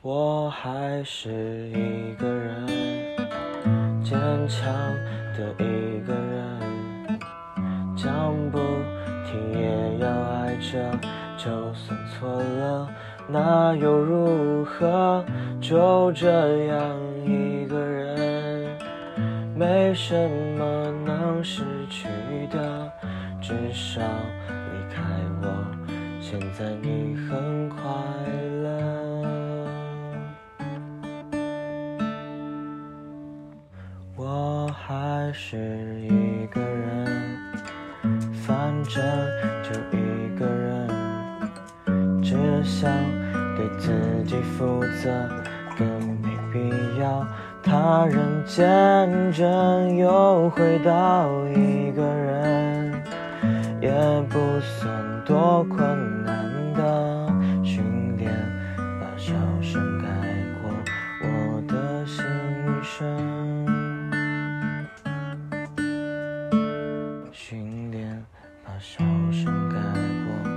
我还是一个人，坚强的一个人，讲不听也要爱着，就算错了那又如何？就这样一个人，没什么能失去的，至少离开我，现在你很快乐。我还是一个人，反正就一个人，只想对自己负责，更没必要他人见证。又回到一个人，也不算多困难的训练，把笑声盖过我的心声。训练把笑声盖过